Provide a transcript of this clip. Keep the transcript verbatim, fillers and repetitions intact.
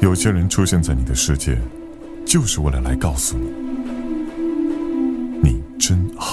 有些人出现在你的世界，就是为了来告诉你，你真好。